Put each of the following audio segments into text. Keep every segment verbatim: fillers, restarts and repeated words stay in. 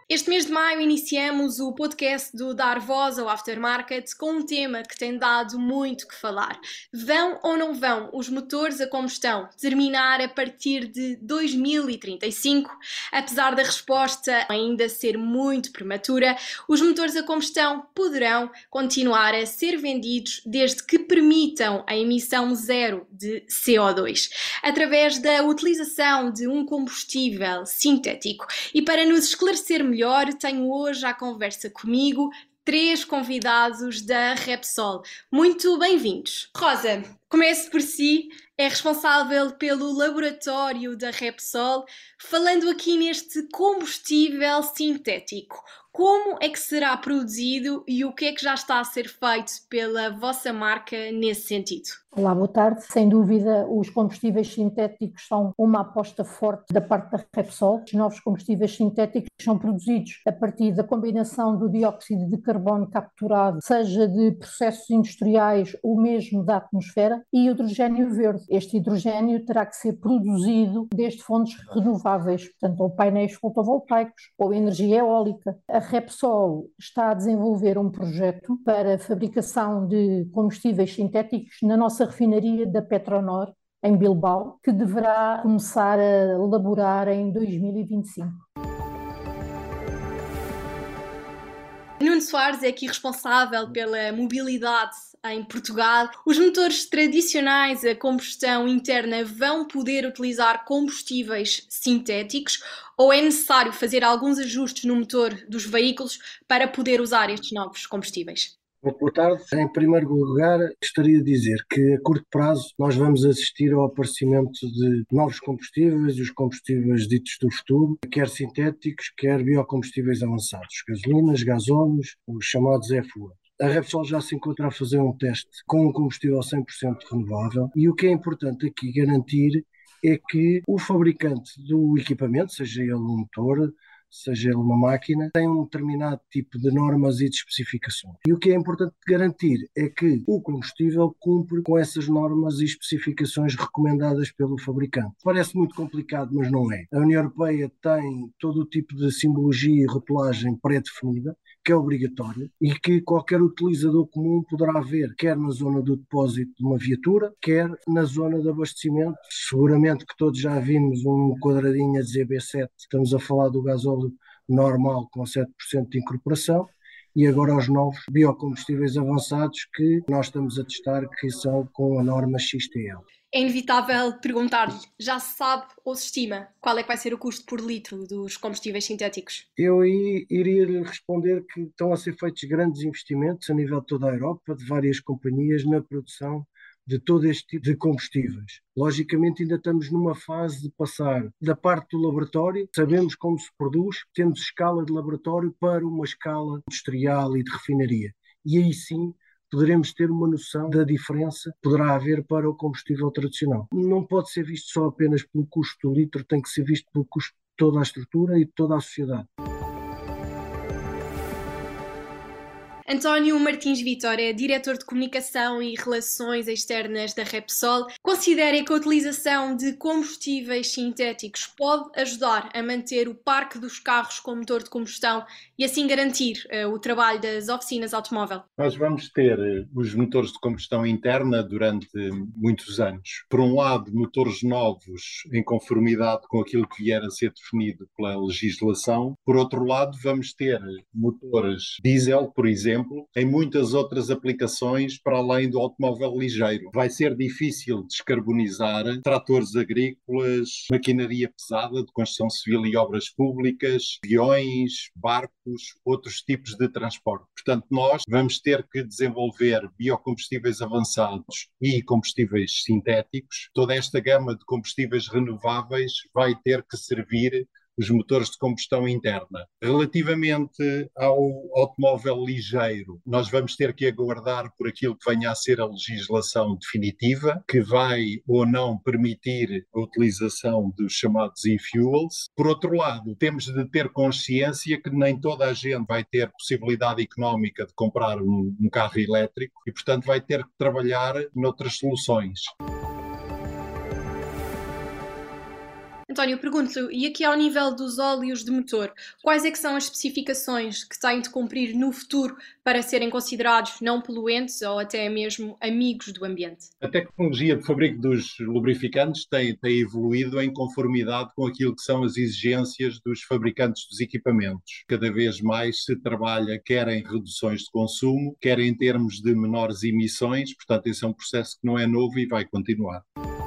Este mês de maio iniciamos o podcast do Dar Voz ao Aftermarket com um tema que tem dado muito que falar. Vão ou não vão os motores a combustão terminar a partir de dois mil e trinta e cinco? Apesar da resposta ainda ser muito prematura, os motores a combustão poderão continuar a ser vendidos desde que permitam a emissão zero de C O dois, através da utilização de um combustível sintético. E para nos esclarecer melhor, tenho hoje à conversa comigo três convidados da Repsol. Muito bem-vindos. Rosa, comece por si, é responsável pelo laboratório da Repsol, falando aqui neste combustível sintético. Como é que será produzido e o que é que já está a ser feito pela vossa marca nesse sentido? Olá, boa tarde. Sem dúvida, os combustíveis sintéticos são uma aposta forte da parte da Repsol. Os novos combustíveis sintéticos são produzidos a partir da combinação do dióxido de carbono capturado, seja de processos industriais ou mesmo da atmosfera, e hidrogénio verde. Este hidrogénio terá que ser produzido desde fontes renováveis, portanto, ou painéis fotovoltaicos ou energia eólica. A Repsol está a desenvolver um projeto para a fabricação de combustíveis sintéticos na nossa refinaria da Petronor, em Bilbao, que deverá começar a elaborar em dois mil e vinte e cinco. Nuno Soares é aqui responsável pela mobilidade em Portugal. Os motores tradicionais a combustão interna vão poder utilizar combustíveis sintéticos ou é necessário fazer alguns ajustes no motor dos veículos para poder usar estes novos combustíveis? Boa tarde. Em primeiro lugar, gostaria de dizer que a curto prazo nós vamos assistir ao aparecimento de novos combustíveis, os combustíveis ditos do futuro, quer sintéticos, quer biocombustíveis avançados, gasolinas, gasóleos, os chamados F U A. A Repsol já se encontra a fazer um teste com um combustível cem por cento renovável e o que é importante aqui garantir é que o fabricante do equipamento, seja ele um motor, seja ele uma máquina, tem um determinado tipo de normas e de especificações. E o que é importante garantir é que o combustível cumpre com essas normas e especificações recomendadas pelo fabricante. Parece muito complicado, mas não é. A União Europeia tem todo o tipo de simbologia e rotulagem pré-definida, que é obrigatório e que qualquer utilizador comum poderá ver, quer na zona do depósito de uma viatura, quer na zona de abastecimento. Seguramente que todos já vimos um quadradinho a dizer B sete, estamos a falar do gasóleo normal com sete por cento de incorporação, e agora os novos biocombustíveis avançados que nós estamos a testar, que são com a norma X T L. É inevitável perguntar-lhe, já se sabe ou se estima qual é que vai ser o custo por litro dos combustíveis sintéticos? Eu aí iria lhe responder que estão a ser feitos grandes investimentos a nível de toda a Europa, de várias companhias, na produção de todo este tipo de combustíveis. Logicamente ainda estamos numa fase de passar da parte do laboratório, sabemos como se produz, temos escala de laboratório para uma escala industrial e de refinaria. E aí sim poderemos ter uma noção da diferença que poderá haver para o combustível tradicional. Não pode ser visto só apenas pelo custo do litro, tem que ser visto pelo custo de toda a estrutura e de toda a sociedade. António Martins Vitor é diretor de Comunicação e Relações Externas da Repsol. Considera que a utilização de combustíveis sintéticos pode ajudar a manter o parque dos carros com motor de combustão e assim garantir uh, o trabalho das oficinas automóvel? Nós vamos ter os motores de combustão interna durante muitos anos. Por um lado, motores novos em conformidade com aquilo que vier a ser definido pela legislação. Por outro lado, vamos ter motores diesel, por exemplo, em muitas outras aplicações para além do automóvel ligeiro. Vai ser difícil descarbonizar tratores agrícolas, maquinaria pesada de construção civil e obras públicas, aviões, barcos, outros tipos de transporte. Portanto, nós vamos ter que desenvolver biocombustíveis avançados e combustíveis sintéticos. Toda esta gama de combustíveis renováveis vai ter que servir os motores de combustão interna. Relativamente ao automóvel ligeiro, nós vamos ter que aguardar por aquilo que venha a ser a legislação definitiva, que vai ou não permitir a utilização dos chamados e-fuels. Por outro lado, temos de ter consciência que nem toda a gente vai ter possibilidade económica de comprar um, um carro elétrico e, portanto, vai ter que trabalhar noutras soluções. António, pergunto-lhe, e aqui ao nível dos óleos de motor, quais é que são as especificações que têm de cumprir no futuro para serem considerados não poluentes ou até mesmo amigos do ambiente? A tecnologia de fabrico dos lubrificantes tem, tem evoluído em conformidade com aquilo que são as exigências dos fabricantes dos equipamentos. Cada vez mais se trabalha quer em reduções de consumo, quer em termos de menores emissões, portanto esse é um processo que não é novo e vai continuar.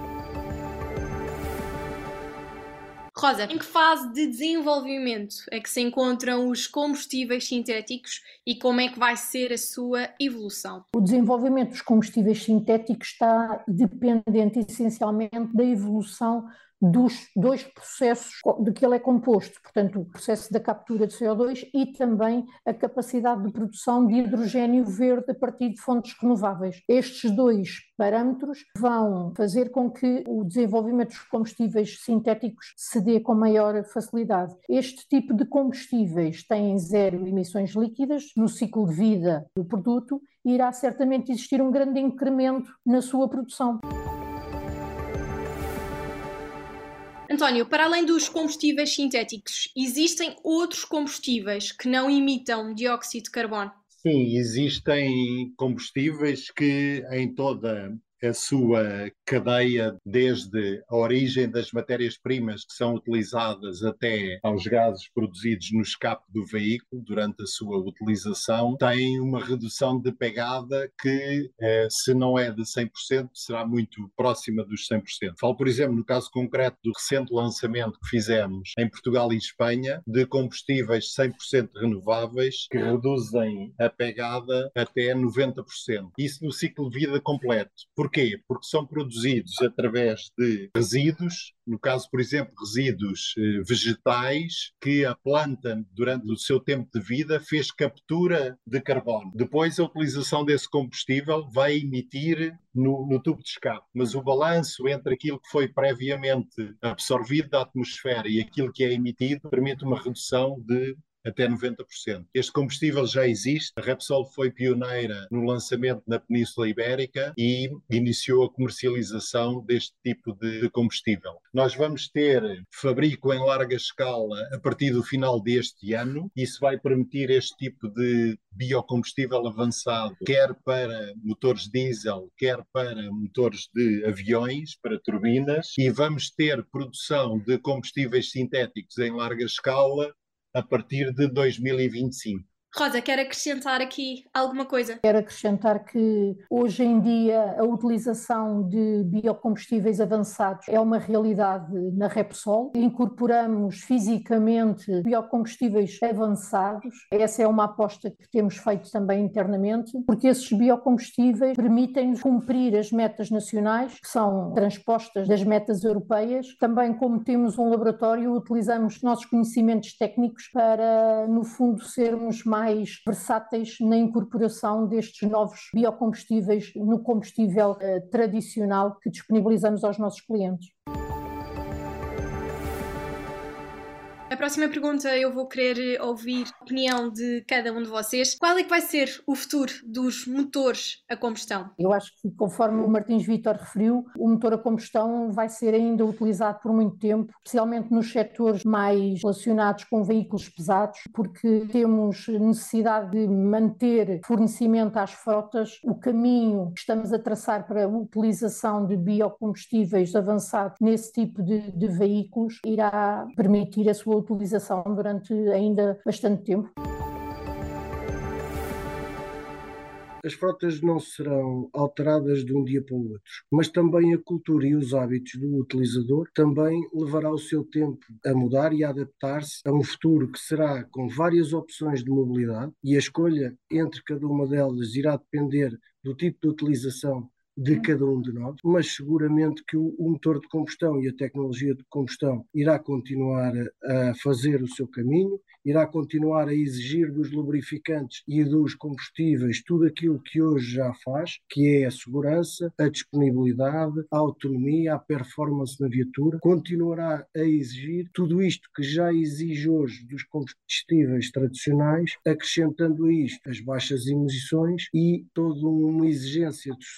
Rosa, em que fase de desenvolvimento é que se encontram os combustíveis sintéticos e como é que vai ser a sua evolução? O desenvolvimento dos combustíveis sintéticos está dependente essencialmente da evolução dos dois processos de que ele é composto, portanto, o processo da captura de C O dois e também a capacidade de produção de hidrogênio verde a partir de fontes renováveis. Estes dois parâmetros vão fazer com que o desenvolvimento dos combustíveis sintéticos se dê com maior facilidade. Este tipo de combustíveis tem zero emissões líquidas no ciclo de vida do produto e irá certamente existir um grande incremento na sua produção. António, para além dos combustíveis sintéticos, existem outros combustíveis que não emitam dióxido de carbono? Sim, existem combustíveis que em toda a sua cadeia, desde a origem das matérias-primas que são utilizadas até aos gases produzidos no escape do veículo durante a sua utilização, tem uma redução de pegada que, eh, se não é de cem por cento, será muito próxima dos cem por cento. Falo, por exemplo, no caso concreto do recente lançamento que fizemos em Portugal e Espanha, de combustíveis cem por cento renováveis que reduzem a pegada até noventa por cento. Isso no ciclo de vida completo. Porquê? Porque são produzidos através de resíduos, no caso, por exemplo, resíduos eh, vegetais que a planta, durante o seu tempo de vida, fez captura de carbono. Depois, a utilização desse combustível vai emitir no, no tubo de escape. Mas o balanço entre aquilo que foi previamente absorvido da atmosfera e aquilo que é emitido permite uma redução de até noventa por cento. Este combustível já existe. A Repsol foi pioneira no lançamento na Península Ibérica e iniciou a comercialização deste tipo de combustível. Nós vamos ter fabrico em larga escala a partir do final deste ano. Isso vai permitir este tipo de biocombustível avançado, quer para motores diesel, quer para motores de aviões, para turbinas, e vamos ter produção de combustíveis sintéticos em larga escala a partir de dois mil e vinte e cinco. Rosa, quer acrescentar aqui alguma coisa? Quero acrescentar que hoje em dia a utilização de biocombustíveis avançados é uma realidade na Repsol. Incorporamos fisicamente biocombustíveis avançados. Essa é uma aposta que temos feito também internamente, porque esses biocombustíveis permitem-nos cumprir as metas nacionais, que são transpostas das metas europeias. Também, como temos um laboratório, utilizamos nossos conhecimentos técnicos para, no fundo, sermos mais mais versáteis na incorporação destes novos biocombustíveis no combustível eh, tradicional que disponibilizamos aos nossos clientes. A próxima pergunta eu vou querer ouvir a opinião de cada um de vocês. Qual é que vai ser o futuro dos motores a combustão? Eu acho que, conforme o Martins Vítor referiu, o motor a combustão vai ser ainda utilizado por muito tempo, especialmente nos setores mais relacionados com veículos pesados, porque temos necessidade de manter fornecimento às frotas. O caminho que estamos a traçar para a utilização de biocombustíveis avançados nesse tipo de, de veículos irá permitir a sua utilização durante ainda bastante tempo. As frotas não serão alteradas de um dia para o outro, mas também a cultura e os hábitos do utilizador também levará o seu tempo a mudar e a adaptar-se a um futuro que será com várias opções de mobilidade, e a escolha entre cada uma delas irá depender do tipo de utilização de cada um de nós, mas seguramente que o, o motor de combustão e a tecnologia de combustão irá continuar a, a fazer o seu caminho, irá continuar a exigir dos lubrificantes e dos combustíveis tudo aquilo que hoje já faz, que é a segurança, a disponibilidade, a autonomia, a performance na viatura, continuará a exigir tudo isto que já exige hoje dos combustíveis tradicionais, acrescentando a isto as baixas emissões e toda uma exigência de sustentabilidade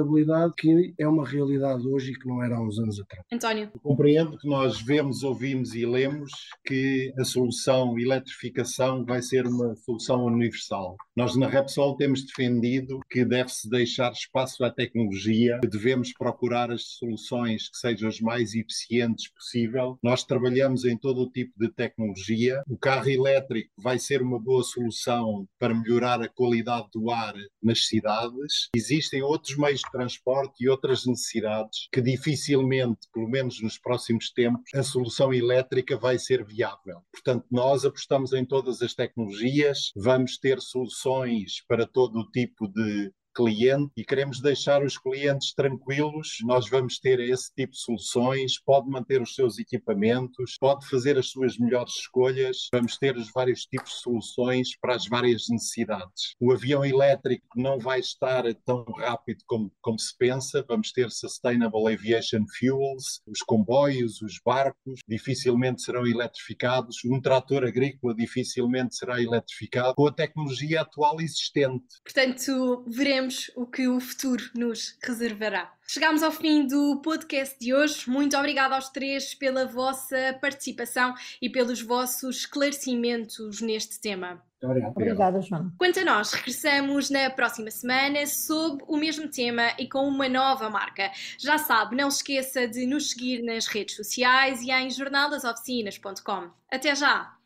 sustentabilidade que é uma realidade hoje e que não era há uns anos atrás. António. Eu compreendo que nós vemos, ouvimos e lemos que a solução eletrificação vai ser uma solução universal. Nós na Repsol temos defendido que deve-se deixar espaço à tecnologia, que devemos procurar as soluções que sejam as mais eficientes possível. Nós trabalhamos em todo o tipo de tecnologia. O carro elétrico vai ser uma boa solução para melhorar a qualidade do ar nas cidades. Existem outros meios de transporte e outras necessidades que dificilmente, pelo menos nos próximos tempos, a solução elétrica vai ser viável. Portanto, nós apostamos em todas as tecnologias, vamos ter soluções para todo o tipo de cliente e queremos deixar os clientes tranquilos. Nós vamos ter esse tipo de soluções, pode manter os seus equipamentos, pode fazer as suas melhores escolhas, vamos ter os vários tipos de soluções para as várias necessidades. O avião elétrico não vai estar tão rápido como, como se pensa, vamos ter Sustainable Aviation Fuels, os comboios, os barcos dificilmente serão eletrificados, um trator agrícola dificilmente será eletrificado com a tecnologia atual existente. Portanto, veremos o que o futuro nos reservará. Chegámos ao fim do podcast de hoje. Muito obrigada aos três pela vossa participação e pelos vossos esclarecimentos neste tema. Obrigado. Obrigada, Joana. Quanto a nós, regressamos na próxima semana sob o mesmo tema e com uma nova marca. Já sabe, não se esqueça de nos seguir nas redes sociais e em jornal das oficinas ponto com. Até já!